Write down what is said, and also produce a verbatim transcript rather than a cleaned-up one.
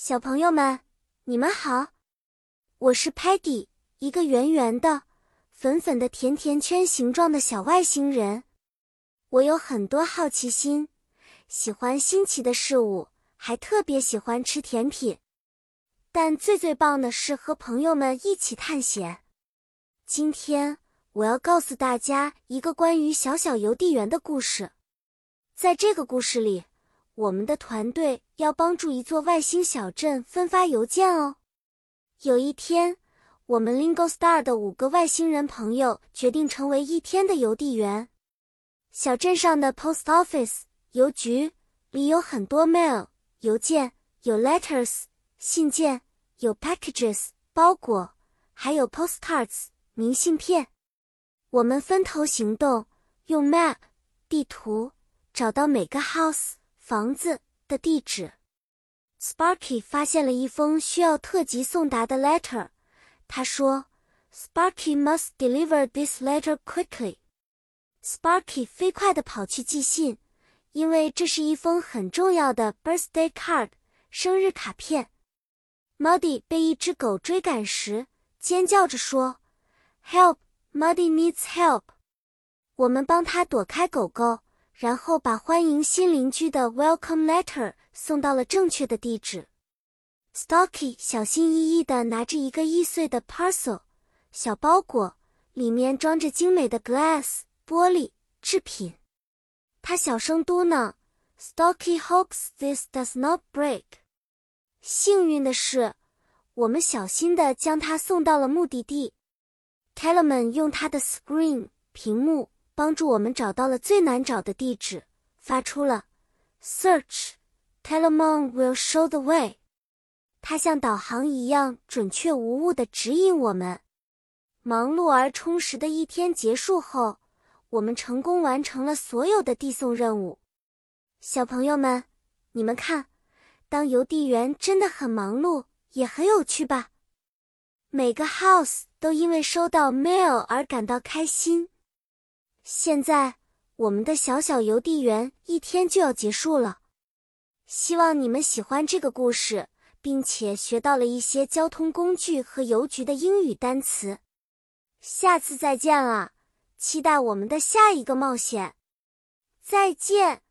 小朋友们，你们好，我是 Peggy， 一个圆圆的、粉粉的甜甜圈形状的小外星人。我有很多好奇心，喜欢新奇的事物，还特别喜欢吃甜品。但最最棒的是和朋友们一起探险。今天我要告诉大家一个关于小小邮递员的故事。在这个故事里，我们的团队要帮助一座外星小镇分发邮件哦。有一天，我们 Lingo Star 的五个外星人朋友决定成为一天的邮递员。小镇上的 Post Office 邮局里有很多 mail 邮件，有 letters 信件，有 packages 包裹，还有 postcards 明信片。我们分头行动，用 map 地图找到每个 house房子的地址。Sparky 发现了一封需要特急送达的 letter。他说 Sparky must deliver this letter quickly。 Sparky 飞快地跑去寄信，因为这是一封很重要的 birthday card 生日卡片。Muddy 被一只狗追赶时，尖叫着说 Help, Muddy needs help。 我们帮他躲开狗狗，然后把欢迎新邻居的 welcome letter 送到了正确的地址。Stocky 小心翼翼地拿着一个易碎的 parcel 小包裹，里面装着精美的 glass 玻璃制品。他小声嘟囔 Stocky hopes this does not break。 幸运的是，我们小心地将它送到了目的地。Telemann 用他的 screen 屏幕帮助我们找到了最难找的地址，发出了 Search, Telemann will show the way。 它像导航一样准确无误地指引我们。忙碌而充实的一天结束后，我们成功完成了所有的递送任务。小朋友们，你们看，当邮递员真的很忙碌，也很有趣吧？每个 house 都因为收到 mail 而感到开心。现在，我们的小小邮递员一天就要结束了。希望你们喜欢这个故事，并且学到了一些交通工具和邮局的英语单词。下次再见了，期待我们的下一个冒险。再见。